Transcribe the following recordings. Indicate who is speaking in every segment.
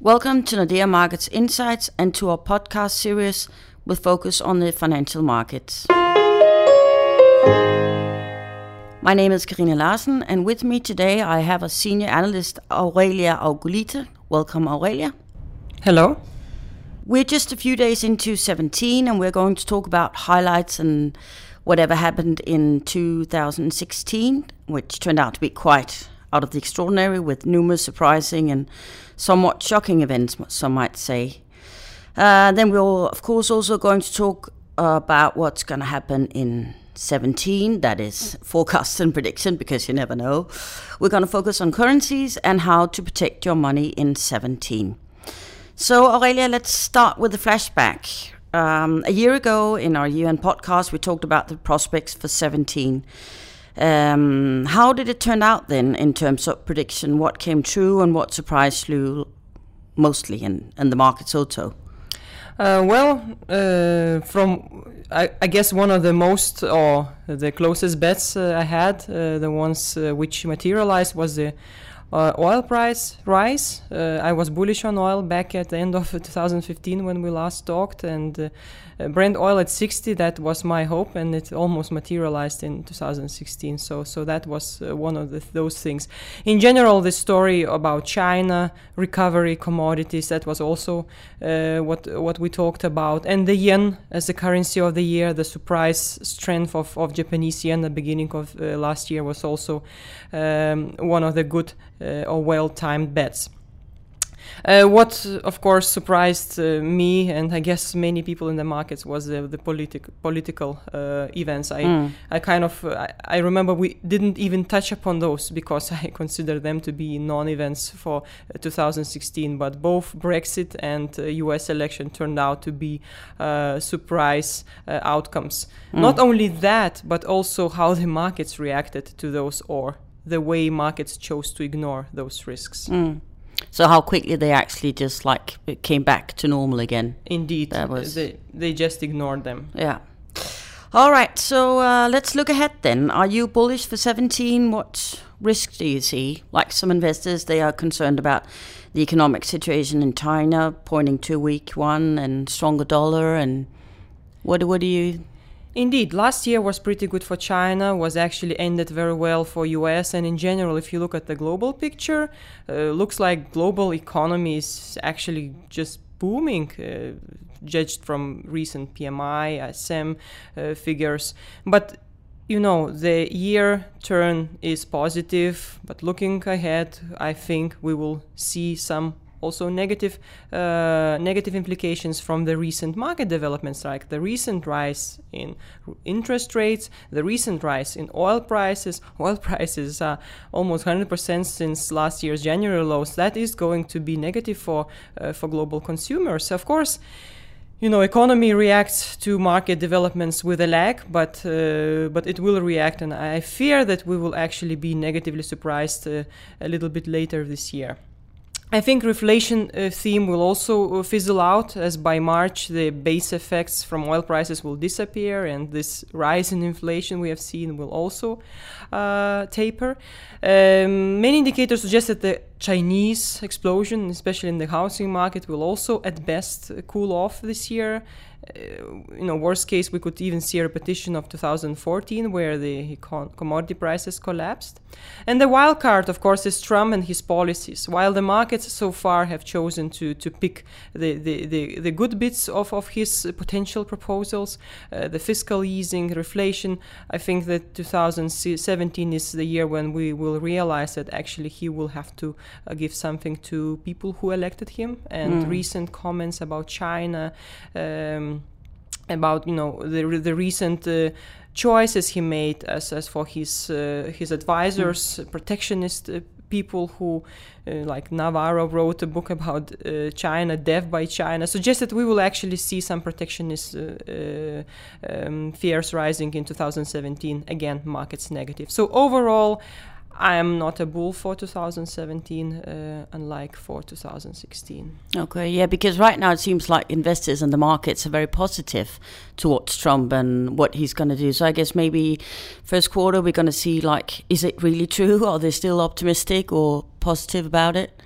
Speaker 1: Welcome to Nordea Markets Insights and to our podcast series with focus on the financial markets. My name is Karina Larsen, and with me today I have a senior analyst, Aurelia Augulite. Welcome, Aurelia.
Speaker 2: Hello.
Speaker 1: We're just a few days into 2017, and we're going to talk about highlights and whatever happened in 2016, which turned out to be quite out of the extraordinary, with numerous surprising and somewhat shocking events, some might say. Then we're, of course, also going to talk about what's going to happen in 2017, that is forecast and prediction, because you never know. We're going to focus on currencies and how to protect your money in 2017. So, Aurelia, let's start with a flashback. A year ago in our year-end podcast, we talked about the prospects for 2017. How did it turn out then in terms of prediction? What came true and what surprised you mostly in the markets also?
Speaker 2: I guess one of the most or the closest bets I had, the ones which materialized, was the oil price rise. I was bullish on oil back at the end of 2015 when we last talked, and Brent oil at 60, that was my hope, and it almost materialized in 2016. So that was one of those things. In general, the story about China, recovery, commodities, that was also what we talked about. And the yen as the currency of the year, the surprise strength of Japanese yen at the beginning of last year was also one of the good or well-timed bets. What, of course, surprised me and I guess many people in the markets was the political events. I remember we didn't even touch upon those because I consider them to be non-events for 2016. But both Brexit and US election turned out to be surprise outcomes. Not only that, but also how the markets reacted to those, or the way markets chose to ignore those risks.
Speaker 1: So how quickly they actually just came back to normal again.
Speaker 2: Indeed, they just ignored them.
Speaker 1: Yeah. All right, so let's look ahead then. Are you bullish for 2017? What risk do you see? Like some investors, they are concerned about the economic situation in China, pointing to a weak one and stronger dollar. And what do you...
Speaker 2: Indeed, last year was pretty good for China, was actually ended very well for US, and in general, if you look at the global picture, looks like global economy is actually just booming, judged from recent PMI, ISM figures. But the year turn is positive, but looking ahead, I think we will see some also negative implications from the recent market developments, like the recent rise in interest rates, the recent rise in oil prices. Oil prices are almost 100% since last year's January lows. That is going to be negative for global consumers. Of course, economy reacts to market developments with a lag, but it will react, and I fear that we will actually be negatively surprised a little bit later this year. I think reflation theme will also fizzle out, as by March the base effects from oil prices will disappear, and this rise in inflation we have seen will also taper. Many indicators suggest that the Chinese explosion, especially in the housing market, will also at best cool off this year. Worst case, we could even see a repetition of 2014, where the commodity prices collapsed. And the wild card, of course, is Trump and his policies. While the markets so far have chosen to pick the good bits of his potential proposals, the fiscal easing, reflation, I think that 2017 is the year when we will realize that actually he will have to give something to people who elected him. And recent comments about China, about the recent choices he made as for his advisors, protectionist people who, like Navarro wrote a book about China, Death by China, suggests that we will actually see some protectionist fears rising in 2017. Again, markets negative. So overall, I am not a bull for 2017, unlike for 2016.
Speaker 1: Okay, yeah, because right now it seems like investors and the markets are very positive towards Trump and what he's going to do. So I guess maybe first quarter we're going to see, is it really true? Are they still optimistic or positive about it?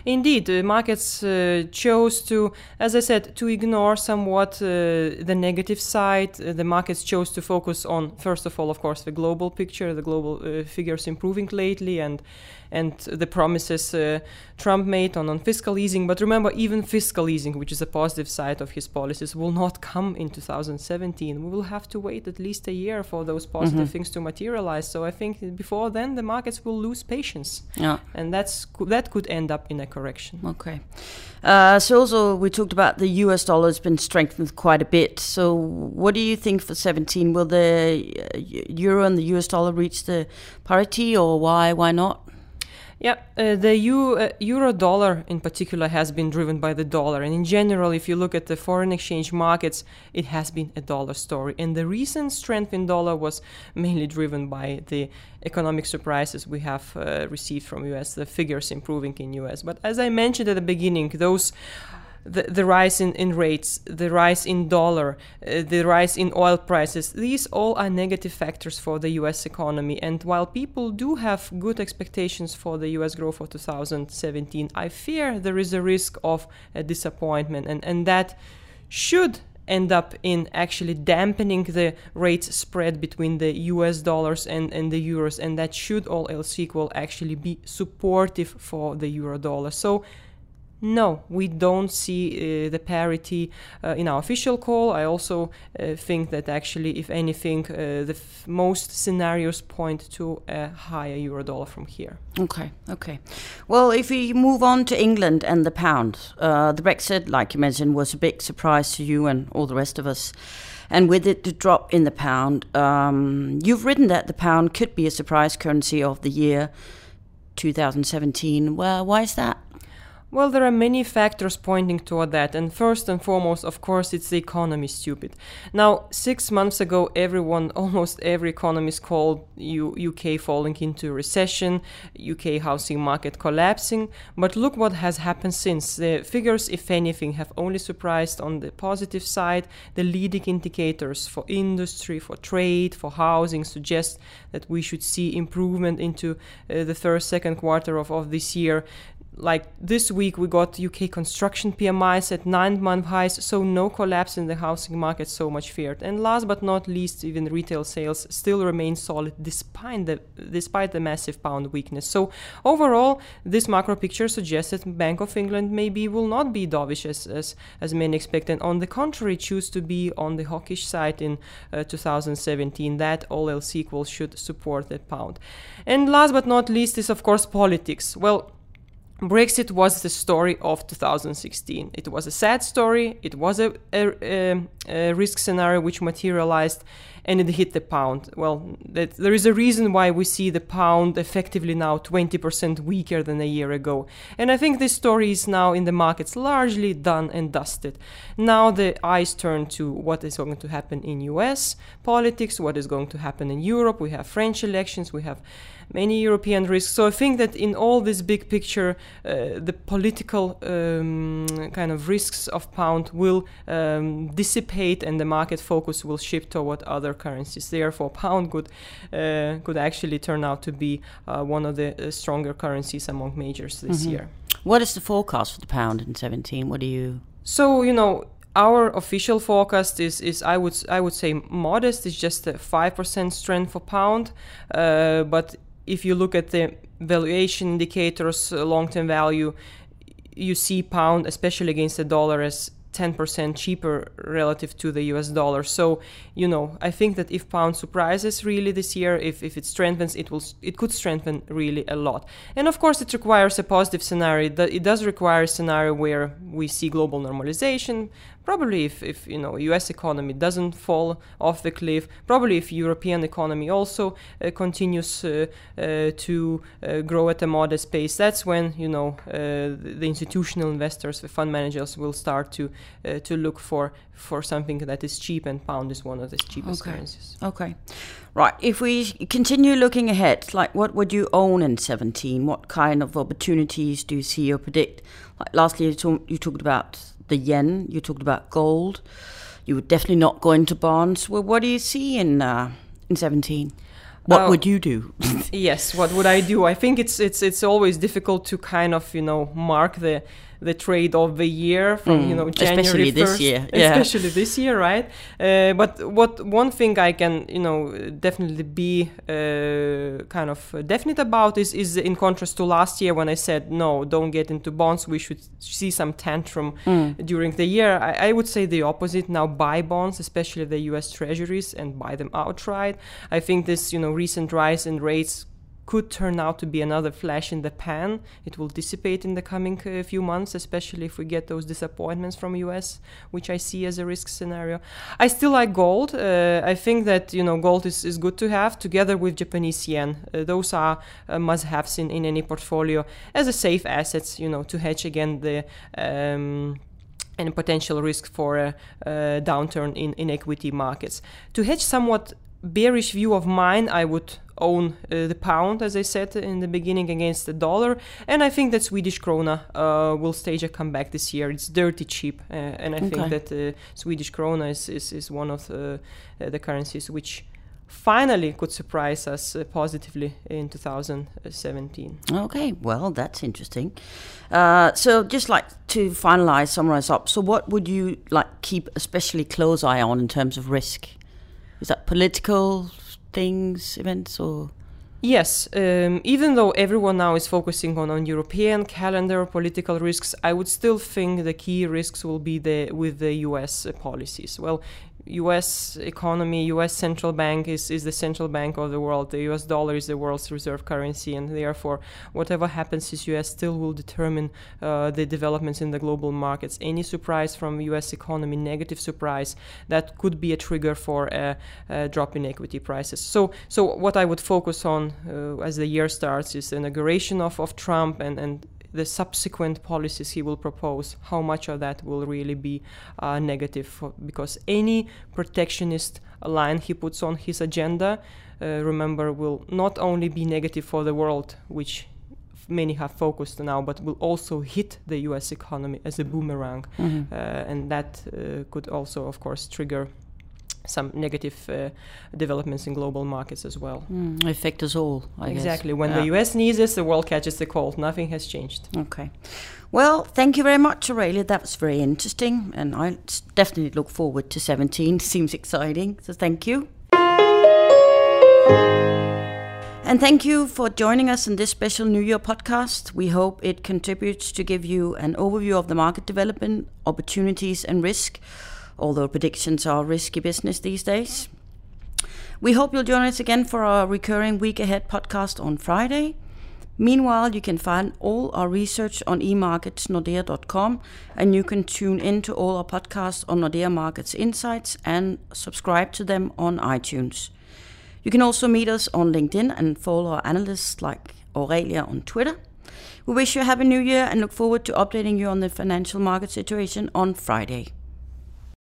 Speaker 2: Indeed, the markets chose to, as I said, to ignore somewhat the negative side. The markets chose to focus on, first of all, of course, the global picture, the global figures improving lately, and the promises Trump made on fiscal easing. But remember, even fiscal easing, which is a positive side of his policies, will not come in 2017. We will have to wait at least a year for those positive things to materialize. So I think before then, the markets will lose patience.
Speaker 1: Yeah.
Speaker 2: And that could end up in a correction.
Speaker 1: Okay. So also we talked about the US dollar has been strengthened quite a bit. So what do you think for 17? Will the euro and the US dollar reach the parity, or why not?
Speaker 2: Yeah, the euro dollar in particular has been driven by the dollar. And in general, if you look at the foreign exchange markets, it has been a dollar story. And the recent strength in dollar was mainly driven by the economic surprises we have received from US, the figures improving in US. But as I mentioned at the beginning, the rise in rates, the rise in dollar, the rise in oil prices, these all are negative factors for the US economy. And while people do have good expectations for the US growth for 2017, I fear there is a risk of a disappointment, and that should end up in actually dampening the rate spread between the US dollars and the euros, and that should, all else equal, actually be supportive for the euro dollar. So no, we don't see the parity in our official call. I also think that actually, if anything, most scenarios point to a higher euro dollar from here.
Speaker 1: Okay. Well, if we move on to England and the pound, the Brexit, like you mentioned, was a big surprise to you and all the rest of us. And with it, the drop in the pound, you've written that the pound could be a surprise currency of the year 2017. Well, why is that?
Speaker 2: Well, there are many factors pointing toward that, and first and foremost, of course, it's the economy, stupid. Now, 6 months ago, almost every economist called UK falling into recession, UK housing market collapsing, but look what has happened since. The figures, if anything, have only surprised on the positive side. The leading indicators for industry, for trade, for housing suggest that we should see improvement into the second quarter of this year. Like this week, we got UK construction PMIs at 9-month highs, so no collapse in the housing market so much feared. And last but not least, even retail sales still remain solid despite the massive pound weakness. So overall, this macro picture suggests that Bank of England maybe will not be dovish as many expect, and on the contrary, choose to be on the hawkish side in 2017. That, all else equal, should support the pound. And last but not least is, of course, politics. Well, Brexit was the story of 2016. It was a sad story. It was a risk scenario which materialized, and it hit the pound. Well, there is a reason why we see the pound effectively now 20% weaker than a year ago. And I think this story is now in the markets largely done and dusted. Now the eyes turn to what is going to happen in US politics, what is going to happen in Europe. We have French elections, we have many European risks. So I think that in all this big picture, the political kind of risks of pound will dissipate, and the market focus will shift toward other currencies. Therefore, pound could actually turn out to be one of the stronger currencies among majors this year.
Speaker 1: What is the forecast for the pound in 17? What do you...
Speaker 2: So, our official forecast is I would say modest. It's just a 5% strength for pound, but if you look at the valuation indicators, long-term value, you see pound, especially against the dollar, as 10% cheaper relative to the US dollar. So, I think that if pound surprises really this year, if it strengthens, it could strengthen really a lot. And of course, it requires a positive scenario. It does require a scenario where we see global normalization. Probably if US economy doesn't fall off the cliff, probably if European economy also continues to grow at a modest pace, that's when the institutional investors, the fund managers, will start to look for something that is cheap, and pound is one of the cheapest currencies.
Speaker 1: Okay. Right. If we continue looking ahead, like what would you own in 17? What kind of opportunities do you see or predict? Like lastly, you talked about the yen, you talked about gold. You would definitely not go into bonds. Well, what do you see in 17? What would you do?
Speaker 2: Yes, what would I do? I think it's always difficult to kind of, mark the trade of the year from, January
Speaker 1: especially
Speaker 2: 1st.
Speaker 1: This year.
Speaker 2: Especially this year, right? But one thing I can, definitely be kind of definite about is in contrast to last year when I said, no, don't get into bonds. We should see some tantrum during the year. I would say the opposite. Now buy bonds, especially the US Treasuries, and buy them outright. I think this, recent rise in rates could turn out to be another flash in the pan. It will dissipate in the coming few months, especially if we get those disappointments from US, which I see as a risk scenario. I still like gold. I think that gold is good to have together with Japanese yen. Those are must-haves in any portfolio as a safe assets, to hedge again the any potential risk for a downturn in equity markets. To hedge somewhat bearish view of mine, I would own the pound, as I said in the beginning, against the dollar, and I think that Swedish krona will stage a comeback this year. It's dirty cheap, and I think that Swedish krona is one of the currencies which finally could surprise us positively in 2017.
Speaker 1: Okay, well, that's interesting. So just like to summarize up, so what would you keep especially close eye on in terms of risk? Is that political things, events, or?
Speaker 2: Yes, even though everyone now is focusing on European calendar political risks, I would still think the key risks will be with the US policies. Well, US economy, US central bank is the central bank of the world. The US dollar is the world's reserve currency, and therefore whatever happens in US still will determine the developments in the global markets. Any surprise from US economy, negative surprise, that could be a trigger for a drop in equity prices. So what I would focus on as the year starts is the inauguration of Trump and the subsequent policies he will propose, how much of that will really be negative, because any protectionist line he puts on his agenda, remember, will not only be negative for the world, which many have focused on now, but will also hit the US economy as a boomerang. And that could also, of course, trigger some negative developments in global markets as well.
Speaker 1: Affect us all, I guess.
Speaker 2: Exactly. When the US sneezes, the world catches the cold. Nothing has changed.
Speaker 1: Okay. Well, thank you very much, Aurelia. That was very interesting, and I definitely look forward to 17. Seems exciting, so thank you. And thank you for joining us in this special New Year podcast. We hope it contributes to give you an overview of the market development, opportunities and risk, although predictions are risky business these days. We hope you'll join us again for our recurring Week Ahead podcast on Friday. Meanwhile, you can find all our research on emarketsnordea.com, and you can tune in to all our podcasts on Nordea Markets Insights and subscribe to them on iTunes. You can also meet us on LinkedIn and follow our analysts like Aurelia on Twitter. We wish you a happy new year and look forward to updating you on the financial market situation on Friday.